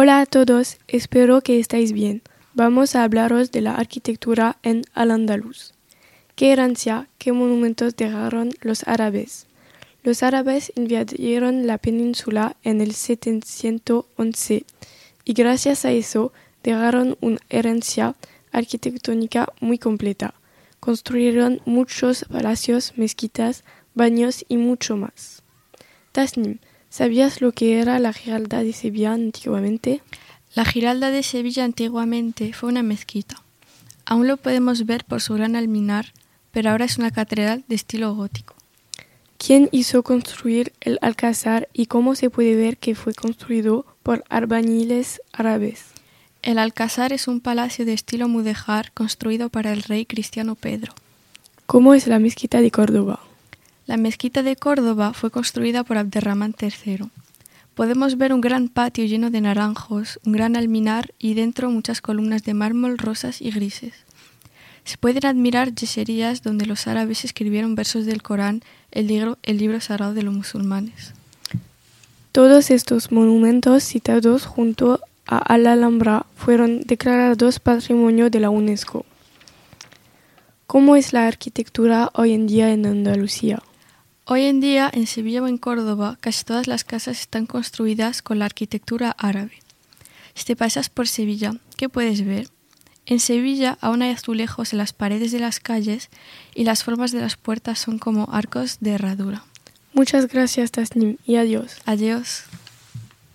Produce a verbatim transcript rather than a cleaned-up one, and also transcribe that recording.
Hola a todos, espero que estéis bien. Vamos a hablaros de la arquitectura en Al-Ándalus. ¿Qué herencia, qué monumentos dejaron los árabes? Los árabes invadieron la península en el setecientos once y gracias a eso dejaron una herencia arquitectónica muy completa. Construyeron muchos palacios, mezquitas, baños y mucho más. Tasnim, ¿sabías lo que era la Giralda de Sevilla antiguamente? La Giralda de Sevilla antiguamente fue una mezquita. Aún lo podemos ver por su gran alminar, pero ahora es una catedral de estilo gótico. ¿Quién hizo construir el Alcázar y cómo se puede ver que fue construido por albañiles árabes? El Alcázar es un palacio de estilo mudéjar construido para el rey cristiano Pedro. ¿Cómo es la mezquita de Córdoba? La mezquita de Córdoba fue construida por Abderramán tercero. Podemos ver un gran patio lleno de naranjos, un gran alminar y dentro muchas columnas de mármol rosas y grises. Se pueden admirar yeserías donde los árabes escribieron versos del Corán, el libro, el libro sagrado de los musulmanes. Todos estos monumentos citados junto a Al-Alhambra fueron declarados Patrimonio de la UNESCO. ¿Cómo es la arquitectura hoy en día en Andalucía? Hoy en día, en Sevilla o en Córdoba, casi todas las casas están construidas con la arquitectura árabe. Si te pasas por Sevilla, ¿qué puedes ver? En Sevilla aún hay azulejos en las paredes de las calles y las formas de las puertas son como arcos de herradura. Muchas gracias, Tasnim, y adiós. Adiós.